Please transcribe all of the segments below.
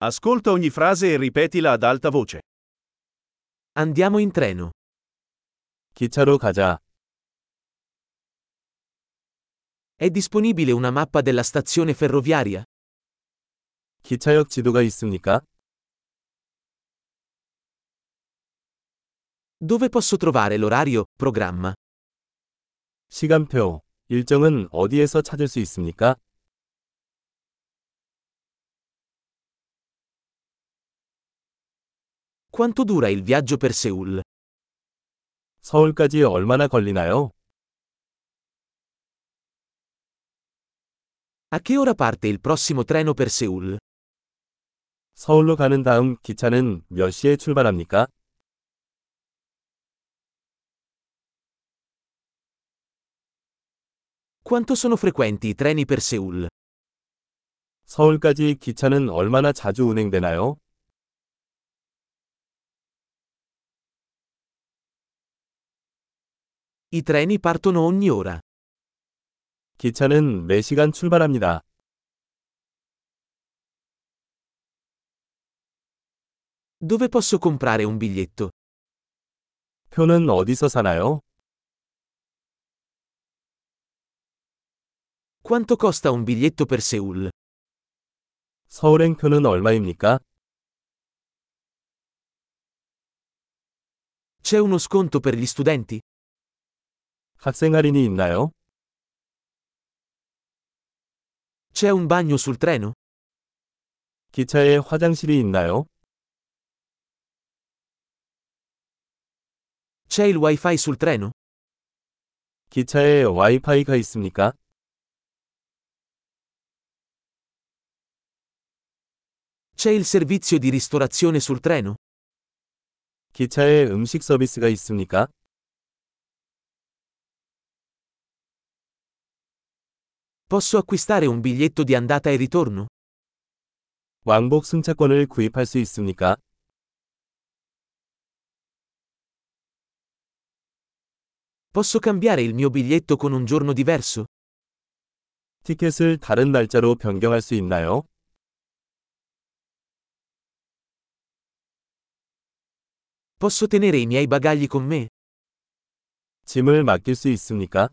Ascolta ogni frase e ripetila ad alta voce. Andiamo in treno. 기차로 가자. È disponibile una mappa della stazione ferroviaria? 기차역 지도가 있습니까? Dove posso trovare l'orario, programma? 시간표, 일정은 어디에서 찾을 수 있습니까? Quanto dura il viaggio per Seoul? 서울까지 얼마나 걸리나요? A che ora parte il prossimo treno per Seoul? 서울로 가는 다음 기차는 몇 시에 출발합니까? Quanto sono frequenti i treni per Seoul? 서울까지 기차는 얼마나 자주 운행되나요? I treni partono ogni ora. 기차는 매 시간 출발합니다. Dove posso comprare un biglietto? 표는 어디서 사나요? Quanto costa un biglietto per Seoul? 서울행 표는 얼마입니까? C'è uno sconto per gli studenti? 학생 할인이 있나요? C'è un bagno sul treno? 기차에 화장실이 있나요? C'è il wifi sul treno? 기차에 와이파이가 있습니까? C'è il servizio di ristorazione sul treno? 기차에 음식 서비스가 있습니까? Posso acquistare un biglietto di andata e ritorno? 왕복 승차권을 구입할 수 있습니까? Posso cambiare il mio biglietto con un giorno diverso? 티켓을 다른 날짜로 변경할 수 있나요? Posso tenere i miei bagagli con me? 짐을 맡길 수 있습니까?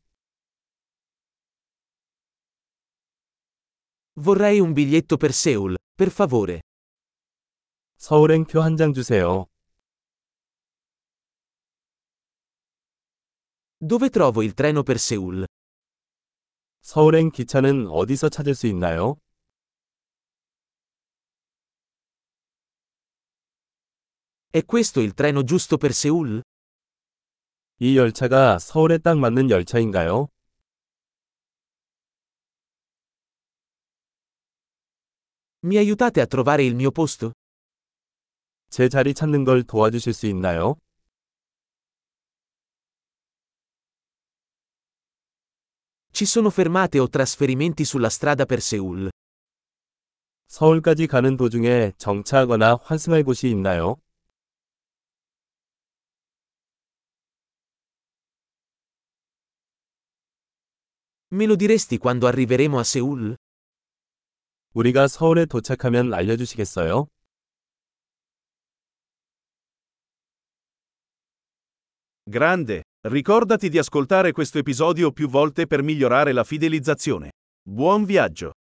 Vorrei un biglietto per Seoul, per favore. 서울행 표 한 장 주세요. Dove trovo il treno per Seoul? 서울행 기차는 어디서 찾을 수 있나요? È questo il treno giusto per Seoul? 이 열차가 서울에 딱 맞는 열차인가요? Mi aiutate a trovare il mio posto? 제 자리 찾는 걸 도와주실 수 있나요? Ci sono fermate o trasferimenti sulla strada per Seoul? 서울까지 가는 도중에 정차하거나 환승할 곳이 있나요? Me lo diresti quando arriveremo a Seoul? 우리가 서울에 도착하면 알려주시겠어요? Grande, ricordati di ascoltare questo episodio più volte per migliorare la fidelizzazione. Buon viaggio!